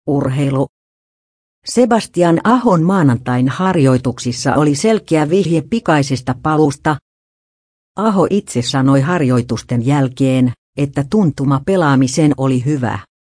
Urheilu. Sebastian Ahon maanantain harjoituksissa oli selkeä vihje pikaisesta paluusta. Aho itse sanoi harjoitusten jälkeen, että tuntuma pelaamiseen oli hyvä.